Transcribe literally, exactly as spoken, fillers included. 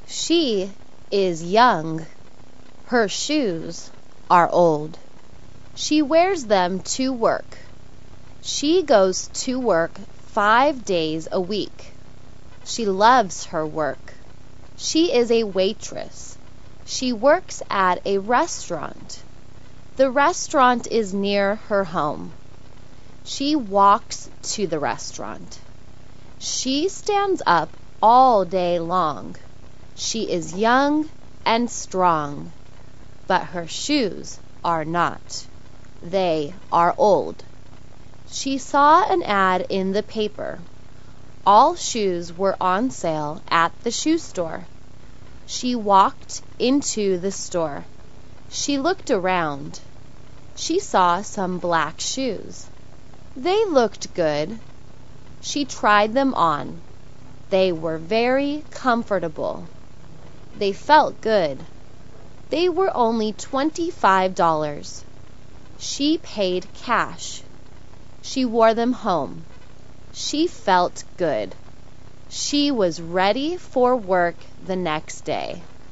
She is young. Her shoes are old. She wears them to work. She goes to work five days a week. She loves her work. She is a waitress. She works at a restaurant. The restaurant is near her home. She walks to the restaurant. She stands up all day long. She is young and strong, but her shoes are not. They are old. She saw an ad in the paper. All shoes were on sale at the shoe store. She walked into the store. She looked around. She saw some black shoes. They looked good. She tried them on. They were very comfortable. They felt good. They were only twenty-five dollars. She paid cash. She wore them home. She felt good. She was ready for work the next day.